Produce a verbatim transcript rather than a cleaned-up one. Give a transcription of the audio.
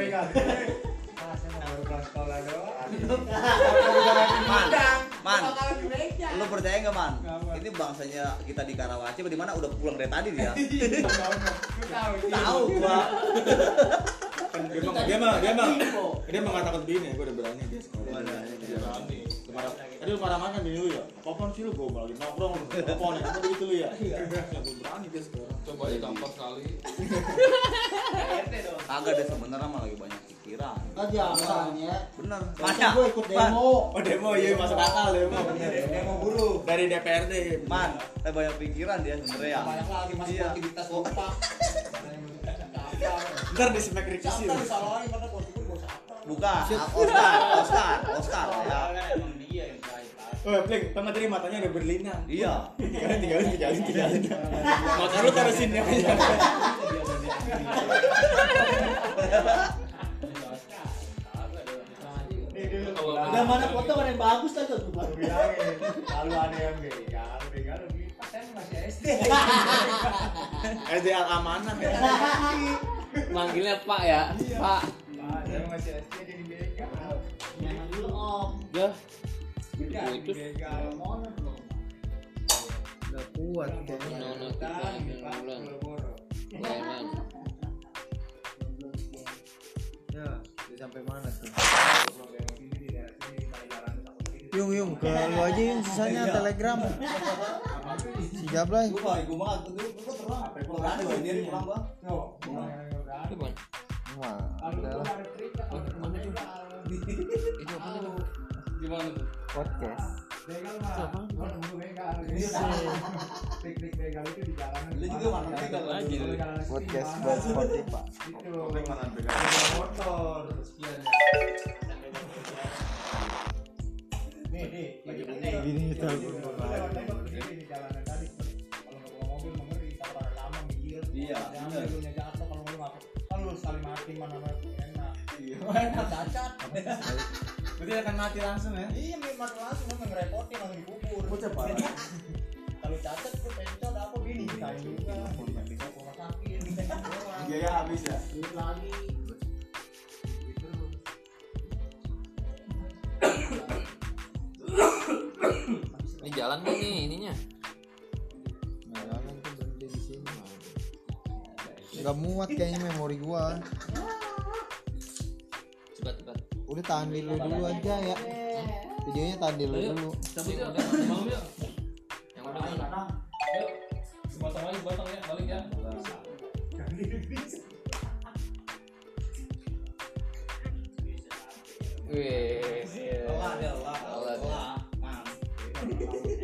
Man, man, lu percaya nggak man? Ini bangsanya kita di Karawaci, di mana udah pulang dari tadi dia. Tahu gua. Dia mah dia mah dia mah dia mengatakan begini, gua udah berani dia sekarang. Dia berani. Kemarin tadi lu marah-marah kan bini lu ya? Apaan sih lu gua lagi nongkrong, apa nih? Apa begitu lu ya? Iya. Gua berani dia sekarang. Coba aja gampang sekali. Kagak deh sebenarnya mah lagi banyak pikiran. Aja misalnya. Bener. Masa gue ikut demo. Oh demo iya masuk akal demo bener. Demo buruh. Dari D P R D. Man, saya banyak pikiran dia sebenarnya. Banyak lagi masuk aktivitas lupa. Ntar di smack revisi. Ntar disalahin karena bos itu bos apa? Bukan, Oscar, Oscar, Oscar ya. Emang dia yang baik. Oh, Pleng, sama tadi matanya udah berlinang. Iya. Tinggalin, tinggalin, tinggalin, tinggalin. Mata lu taruh sini aja. Udah mana foto mana yang bagus lah tuh. Baru bilangin, kalau ada yang begal, begal lebih pas saya masih S D. S D Al Amanah ya. Manggilnya Pak ya, Pak. Pak, saya masih S D jadi begal. Jangan dulu om. Dah. Udah, Itu begal. Udah kuat kayaknya. Nono Dan, kita Pak, bulan. boro-boro. Bayaran. Ya, udah sampai mana tuh? Kalau yang sini di daerah sini, dari jalan takut sini. Yung yung ke lu aja yung sisanya telegram. Si Jablay. Gua balik gua mah tuh gua terang. Apa gua berani gua dia pulang gua. Tuh, orang yang udah Itu Bang. Wah, lalu udah gua lah. ada cerita, Oh, kalau mana begal. Itu apa tuh? Gimana tuh? Podcast. Begal mah, Siapa? gua nunggu begal. Trik-trik begal itu di jalanan. Lu juga mana begal aja. Podcast buat Spotify. Itu. Pleng mana begal? Motor. Nih, nih, lagi Gini kita di jalanan tadi. Kalau nggak bawa mobil mengeri, kalau pada lama mikir. Iya, Jangan bener. dulu jatuh kalau lu nggak. Kalau lu sekali mati mana enak. Iya. Enak cacat. Berarti akan mati langsung ya? Iya, mati langsung lu ngerepotin langsung dikubur. Bocah parah. Kalau cacat lu pencet apa gini kayak juga. Bisa rumah sakit. Biaya habis ya? Duit lagi. Ini jalan nggak nih ininya? Nah, jalan tuh berhenti di sini. Enggak muat kayaknya memori gua. Cepat cepat. Udah tahan dulu dulu aja ya. Videonya tahan dulu dulu. Cabut ya. Mau ya? Yang udah mana? Yuk. Sepotong lagi, potong ya, balik ya. Wih. Allah dia Allah. Allah dia. Allah.